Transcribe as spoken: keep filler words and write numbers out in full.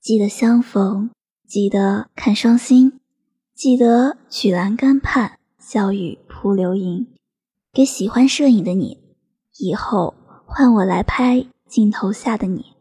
记得相逢，记得看双星，记得曲栏杆畔笑语扑流萤。给喜欢摄影的你，以后换我来拍镜头下的你。